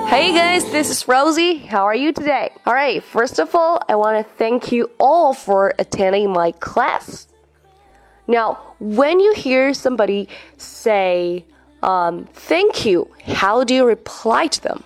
Hey guys, this is Rosie. How are you today? Alright, first of all, I want to thank you all for attending my class. Now, when you hear somebody say, thank you, how do you reply to them?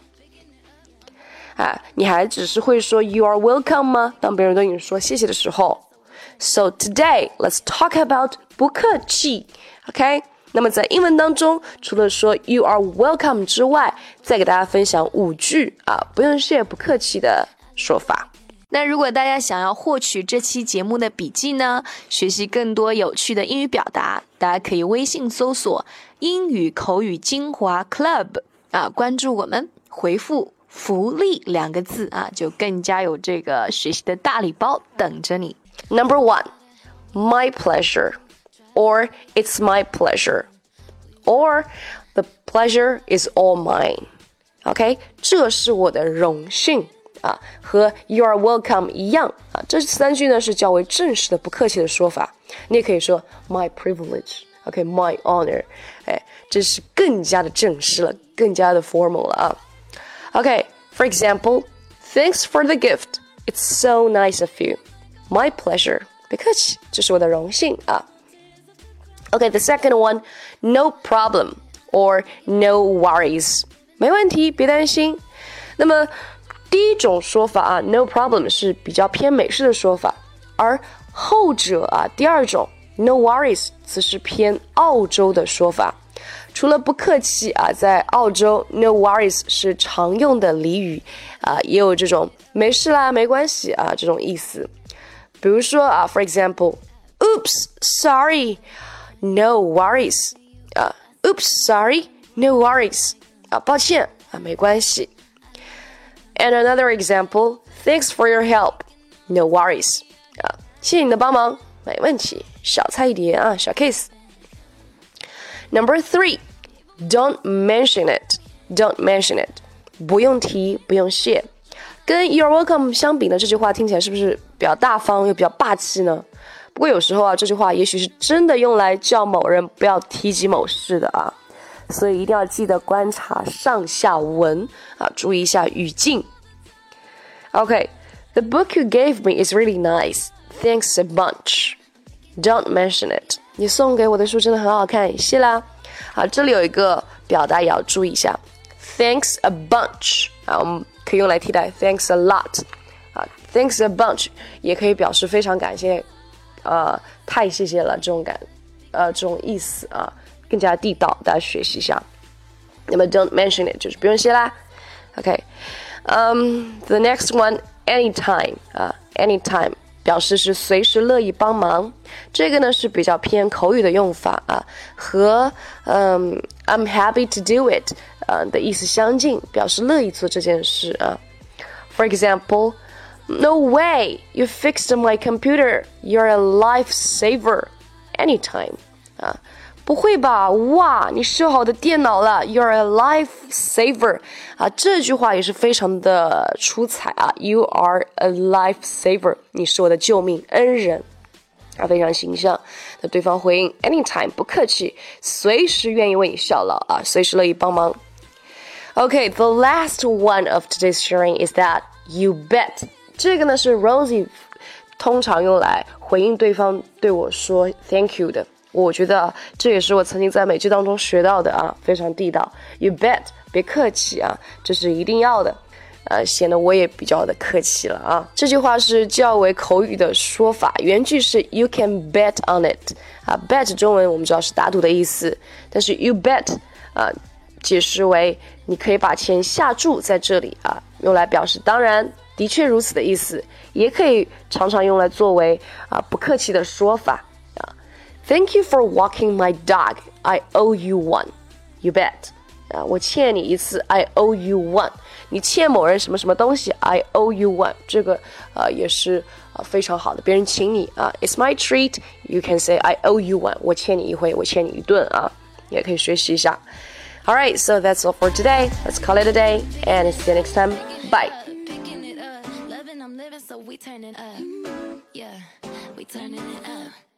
你还只是会说 you are welcome 吗？当别人对你说谢谢的时候。So today, let's talk about 不客气 OK? 那么在英文当中，除了说 you are welcome 之外，再给大家分享5句不用谢不客气的说法。 那如果大家想要获取这期节目的笔记呢，学习更多有趣的英语表达，大家可以微信搜索英语口语精华 Club 关注我们，回复福利2个字就更加有这个学习的大礼包等着你。 Number 1, my pleasure, or it's my pleasure, or the pleasure is all mine. OK, 这是我的荣幸和 you are welcome 一样这3句呢是较为正式的不客气的说法。你也可以说 my privilege, OK, my honor. 这是更加的正式了，更加的 formal 了OK, for example, thanks for the gift. It's so nice of you. My pleasure. 别客气，这是我的荣幸Okay, the second one, no problem or no worries. 没问题，别担心。那么第一种说法no problem 是比较偏美式的说法，而后者第二种 no worries 则是偏澳洲的说法。除了不客气在澳洲 no worries 是常用的俚语也有这种没事啦，没关系这种意思。比如说for example, oops, sorry, no worries. Oops, sorry, no worries. 抱歉没关系。And another example, thanks for your help. No worries. 谢谢你的帮忙，没问题，小菜一碟小 case。Number 3, don't mention it. Don't mention it. 不用提，不用谢。跟 you're welcome 相比呢，这句话听起来是不是比较大方又比较霸气呢？不过有时候这句话也许是真的用来叫某人不要提及某事的所以一定要记得观察上下文注意一下语境。Okay, the book you gave me is really nice. Thanks a bunch. Don't mention it. 你送给我的书真的很好看，谢啦。这里有一个表达也要注意一下 ，Thanks a bunch 我们可以用来替代 Thanks a lot Thanks a bunch 也可以表示非常感谢，太谢谢了这种意思更加地道，大家学习一下。那么 Don't mention it 就是不用谢啦。Okay.The next one, anytime. Anytime 表示是随时乐意帮忙。这个呢是比较偏口语的用法和I'm happy to do it 的意思相近，表示乐意做这件事For example, no way, you fixed my computer. You're a lifesaver. Anytime. 不会吧，哇，你修好的电脑了 You're a lifesaver 这句话也是非常的出彩You are a lifesaver 你是我的救命恩人非常形象。那对方回应 anytime 不客气，随时愿意为你效劳随时乐意帮忙。Okay, the last one of today's sharing is that you bet 这个呢是 Rosie 通常用来回应对方对我说 thank you 的。我觉得这也是我曾经在美剧当中学到的非常地道。You bet， 别客气这是一定要的，显得我也比较的客气了这句话是较为口语的说法，原句是 You can bet on it bet 中文我们知道是打赌的意思，但是 you bet解释为你可以把钱下注在这里用来表示当然的确如此的意思，也可以常常用来作为不客气的说法。Thank you for walking my dog. I owe you one. You bet. 我欠你一次 I owe you one. 你欠某人什么什么东西 I owe you one. 这个也是非常好的，别人请你It's my treat. You can say I owe you one. 我欠你一回，我欠你一顿也可以学习一下。Alright, so that's all for today. Let's call it a day and see you next time. Bye. So we turn it up. Yeah, we turning it up.